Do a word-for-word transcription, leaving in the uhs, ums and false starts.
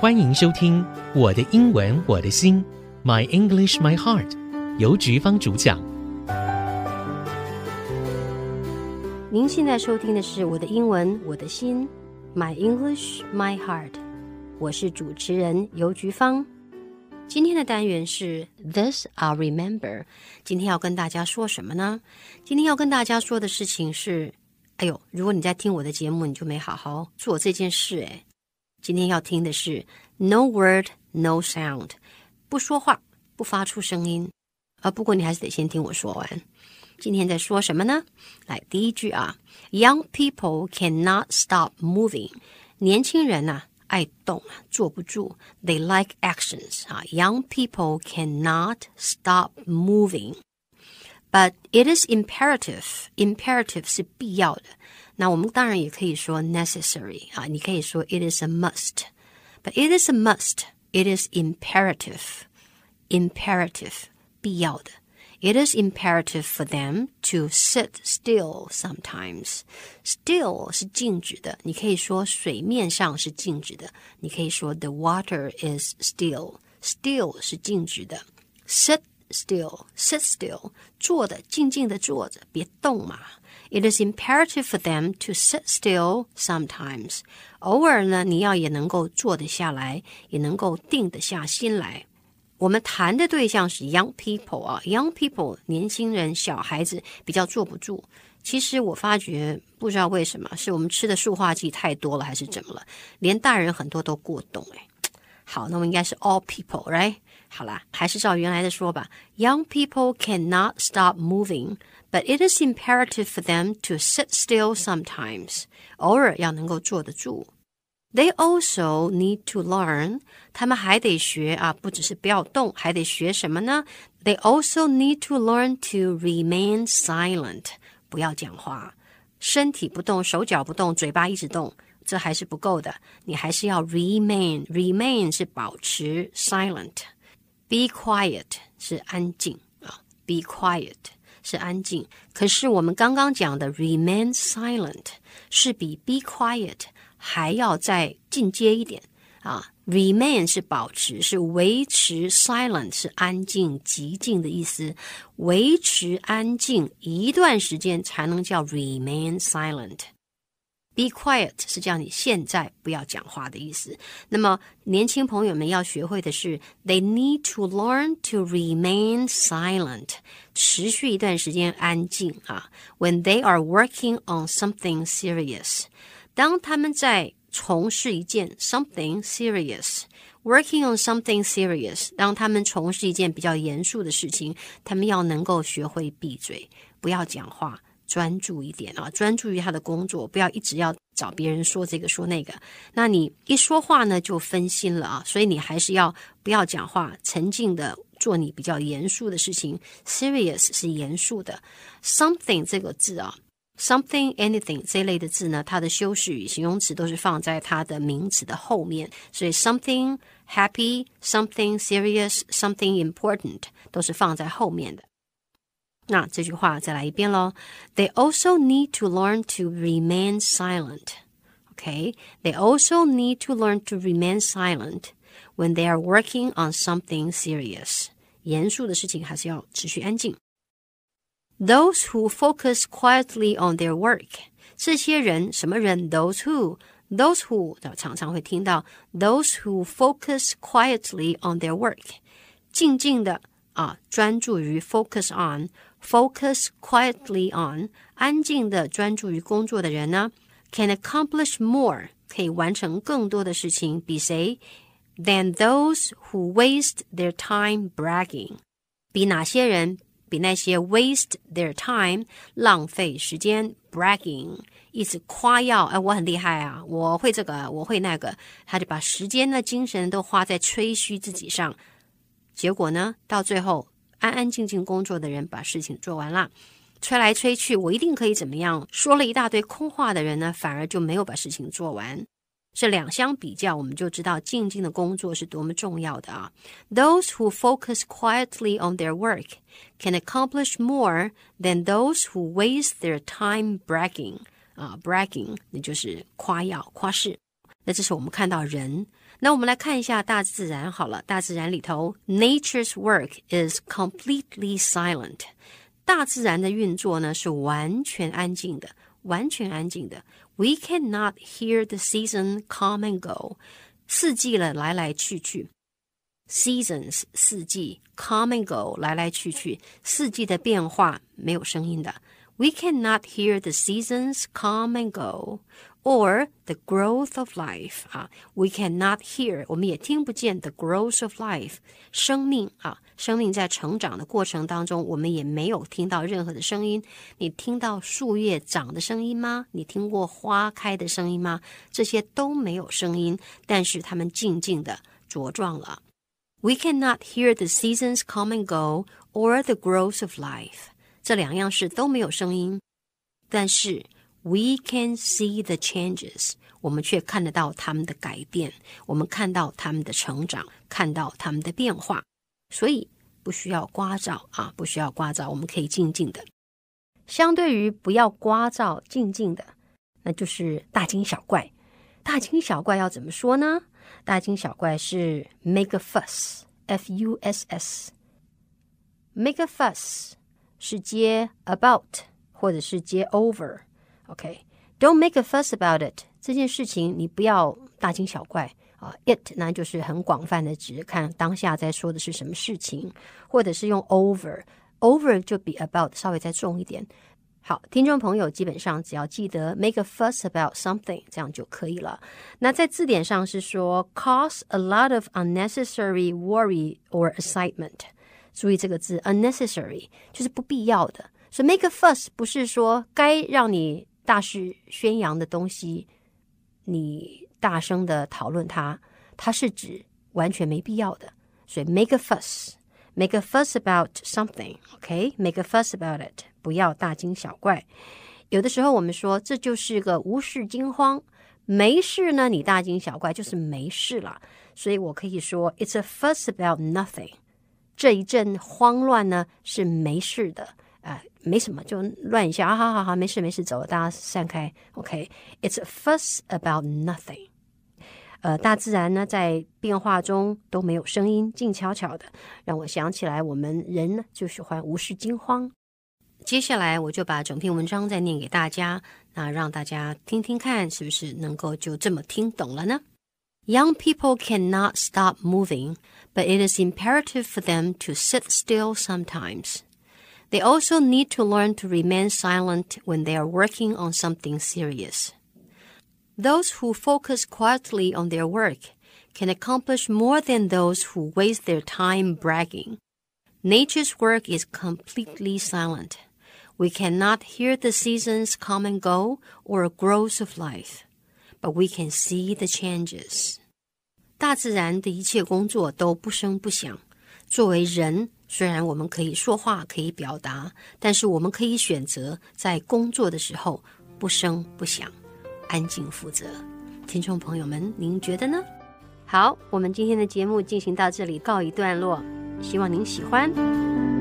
歡迎收聽我的英文我的心 My English My Heart 由菊芳主講。 您現在收聽的是我的英文我的心 My English My Heart， 我是主持人游菊芳。今天的單元是 This I'll Remember。 今天要跟大家說什麼呢？今天要跟大家說的事情是，哎呦，如果你在聽我的節目，你就沒好好做這件事誒。今天要聽的是 No word, no sound， 不說話，不發出聲音。啊，不過你還是得先聽我說完。今天在說什麼呢？來，第一句啊 Young people cannot stop moving。 年輕人啊愛動，坐不住。 They like actions 啊 Young people cannot stop moving But it is imperative. Imperative 是必要的。那我們當然也可以說 necessary 啊，你可以說 it is a must. But it is a must. It is imperative. Imperative 必要的。It is imperative for them to sit still sometimes. Still 是靜止的，你可以說水面上是靜止的，你可以說 the water is still. Still 是靜止的。Sit still, sit still, 坐的，靜靜的坐着，別動嘛。It is imperative for them to sit still sometimes. 偶爾呢，你要也能夠坐得下來，也能夠定得下心來。我們談的對象是 young people 啊 ，young people 年輕人、小孩子比較坐不住。其實我發覺，不知道為什麼，是我們吃的塑化劑太多了，還是怎麼了？連大人很多都過動哎。好，那麼應該是 all people, right? 好啦，還是照原來的說吧。Young people cannot stop moving, but it is imperative for them to sit still sometimes. 偶爾要能夠坐得住。They also need to learn. 他們還得學啊，不只是不要動，還得學什麼呢？ They also need to learn to remain silent. 不要講話，身體不動，手腳不動，嘴巴一直動。這還是不夠的，你還是要 remain. Remain 是保持 silent. Be quiet 是安靜啊 Be quiet 是安靜。可是我們剛剛講的 remain silent 是比 be quiet 還要再進階一點啊 Remain 是保持，是維持 silent 是安靜、寂靜的意思。維持安靜一段時間才能叫 remain silent。Be quiet 是叫你現在不要講話的意思。那麼年輕朋友們要學會的是 They need to learn to remain silent， 持續一段時間安靜啊。When they are working on something serious， 當他們在從事一件 something serious Working on something serious， 當他們從事一件比較嚴肅的事情，他們要能夠學會閉嘴，不要講話，專注一點啊，專注於他的工作，不要一直要找別人說這個說那個。那你一說話呢，就分心了啊，所以你還是要不要講話，沉靜的做你比較嚴肅的事情。Serious 是嚴肅的。Something 這個字啊 ，something anything 這類的字呢，它的修飾語、形容詞都是放在它的名詞的後面，所以 something happy, something serious, something important 都是放在後面的。那這句話再來一遍咯。They also need to learn to remain silent. Okay? They also need to learn to remain silent when they are working on something serious. 嚴肅的事情還是要持續安靜。Those who focus quietly on their work. 這些人，什麼人？ Those who. Those who 常常會聽到 Those who focus quietly on their work. 靜靜的啊，專注於 focus on.Focus quietly on 安靜的專注於工作的人呢 can accomplish more 可以完成更多的事情比誰 than those who waste their time bragging 比哪些人比那些 waste their time 浪費時間 bragging 一直誇耀哎，我很厲害啊，我會這個我會那個，他就把時間的精神都花在吹噓自己上，結果呢到最後安安靜靜工作的人把事情做完了，吹來吹去我一定可以怎麼樣，說了一大堆空話的人呢，反而就沒有把事情做完。這兩相比較，我們就知道靜靜的工作是多麼重要的啊。Those who focus quietly on their work can accomplish more than those who waste their time bragging. 啊 bragging 那就是誇耀誇飾。那這是我們看到人。 那我們來看一下大自然好了，大自然裡頭 Nature's work is completely silent。 大自然的運作呢是完全安靜的，完全安靜的。 We cannot hear the season come and go。 四季了，來來去去。 Seasons 四季， come and go 來來去去，四季的變化沒有聲音的。 We cannot hear the seasons come and go or the growth of life 啊 We cannot hear 我們也聽不見 the growth of life 生命啊，生命在成長的過程當中，我們也沒有聽到任何的聲音。你聽到樹葉長的聲音嗎？你聽過花開的聲音嗎？這些都沒有聲音，但是它們靜靜的茁壯了。We cannot hear the seasons come and go or the growth of life。 這兩樣事都沒有聲音，但是 we can see the changes， 我們卻看得到他們的改變，我們看到他們的成長，看到他們的變化。所以不需要聒噪啊，不需要聒噪，我們可以靜靜的。相對於不要聒噪靜靜的，那就是大驚小怪。大驚小怪要怎麼說呢？大驚小怪是 make a fuss F U S S make a fuss 是接 about 或者是接 over OK Don't make a fuss about it 這件事情你不要大驚小怪啊 It 那就是很廣泛的指看當下在說的是什麼事情，或者是用 over over 就比 about 稍微再重一點。好，聽眾朋友基本上只要記得 make a fuss about something 這樣就可以了。那在字典上是說 cause a lot of unnecessary worry or excitement。 注意這個字 unnecessary 就是不必要的，所以 make a fuss 不是說該讓你大肆宣揚的東西你大聲的討論它，它是指完全沒必要的。所以 make a fuss make a fuss about something OK make a fuss about it，不要大驚小怪。有的時候我們說這就是個無事驚慌，沒事呢你大驚小怪就是沒事了，所以我可以說 It's a fuss about nothing， 這一陣慌亂呢是沒事的、呃、沒什麼就亂一下啊，好好好，沒事沒事，走了，大家散開 OK It's a fuss about nothing。呃，大自然呢在變化中都沒有聲音，靜悄悄的，讓我想起来我們人呢就喜歡無事驚慌。接下來我就把整篇文章再念給大家，那讓大家聽聽看是不是能夠就這麼聽懂了呢？ Young people cannot stop moving, but it is imperative for them to sit still sometimes. They also need to learn to remain silent when they are working on something serious.Those who focus quietly on their work can accomplish more than those who waste their time bragging. Nature's work is completely silent. We cannot hear the seasons come and go or growth of life, but we can see the changes. 大自然的一切工作都不聲不響。作為人，雖然我們可以說話，可以表達，但是我們可以選擇在工作的時候不聲不響。安靜負責。聽眾朋友們，您覺得呢？好，我們今天的節目進行到這裡告一段落，希望您喜歡。